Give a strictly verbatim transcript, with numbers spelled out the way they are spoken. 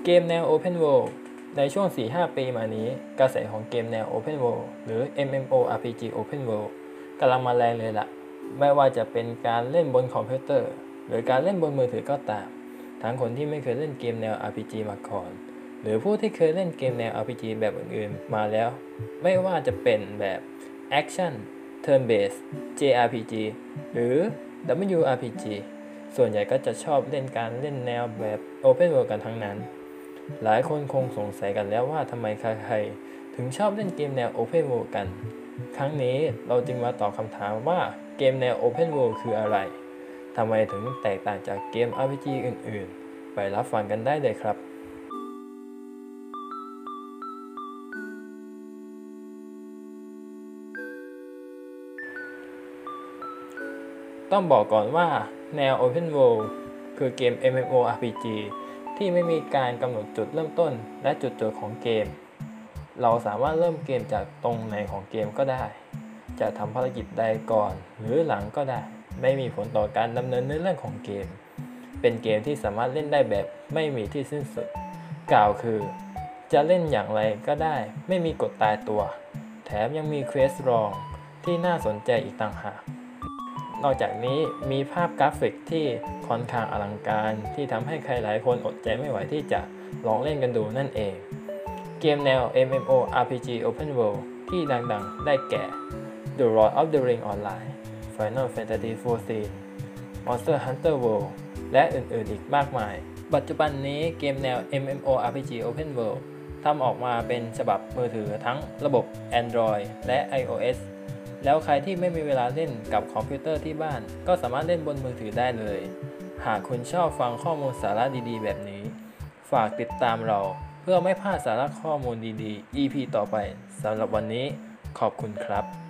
เกมแนว Open World ในช่วง สี่ถึงห้า ปีมานี้กระแสของเกมแนว Open World หรือ เอ็ม เอ็ม โอ อาร์ พี จี Open World กำลังมาแรงเลยล่ะไม่ว่าจะเป็นการเล่นบนคอมพิวเตอร์หรือการเล่นบนมือถือก็ตามทั้งคนที่ไม่เคยเล่นเกมแนว อาร์ พี จี มาก่อนหรือผู้ที่เคยเล่นเกมแนว อาร์ พี จี แบบอื่นๆมาแล้วไม่ว่าจะเป็นแบบ Action Turn Based เจ อาร์ พี จี หรือ ดับเบิลยู อาร์ พี จี ส่วนใหญ่ก็จะชอบเล่นการเล่นแนวแบบ Open World กันทั้งนั้นหลายคนคงสงสัยกันแล้วว่าทำไมใครๆถึงชอบเล่นเกมแนว Open World กันครั้งนี้เราจึงมาตอบคำถามว่าเกมแนว Open World คืออะไรทำไมถึงแตกต่างจากเกม อาร์ พี จี อื่นๆไปรับฟังกันได้เลยครับต้องบอกก่อนว่าแนว Open World คือเกม เอ็ม เอ็ม โอ อาร์ พี จี ที่ไม่มีการกำหนดจุดเริ่มต้นและจุดจบของเกมเราสามารถเริ่มเกมจากตรงไหนของเกมก็ได้จะทำภารกิจใดก่อนหรือหลังก็ได้ไม่มีผลต่อการดำเนินเนื้อเรื่องของเกมเป็นเกมที่สามารถเล่นได้แบบไม่มีที่สิ้นสุดกล่าวคือจะเล่นอย่างไรก็ได้ไม่มีกฎตายตัวแถมยังมีเควสรองที่น่าสนใจอีกต่างหากนอกจากนี้มีภาพกราฟิกที่ค่อนข้างอลังการที่ทำให้ใครหลายคนอดใจไม่ไหวที่จะลองเล่นกันดูนั่นเองเกมแนว เอ็ม เอ็ม โอ อาร์ พี จี Open World ที่ดังๆได้แก่ The Lord of the Rings Online Final Fantasy โฟร์ทีน Monster Hunter World และอื่นๆอีกมากมายปัจจุบันนี้เกมแนว เอ็ม เอ็ม โอ อาร์ พี จี Open World ทำออกมาเป็นฉบับมือถือทั้งระบบ Android และ iOSแล้วใครที่ไม่มีเวลาเล่นกับคอมพิวเตอร์ที่บ้านก็สามารถเล่นบนมือถือได้เลยหากคุณชอบฟังข้อมูลสาระดีๆแบบนี้ฝากติดตามเราเพื่อไม่พลาดสาระข้อมูลดีๆ อี พี ต่อไปสำหรับวันนี้ขอบคุณครับ